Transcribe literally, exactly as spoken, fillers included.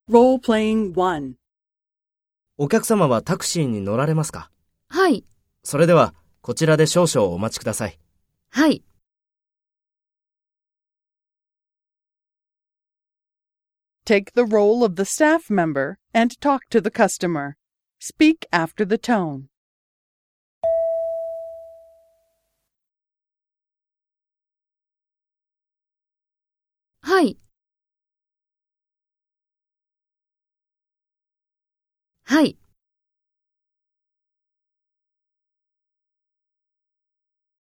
Role-playing one. お客様はタクシーに乗られますか？ はい。 それでは、こちらで少々お待ちください。 はい。 Take the role of the staff member and talk to the customer. Speak after the tone. はい。はい。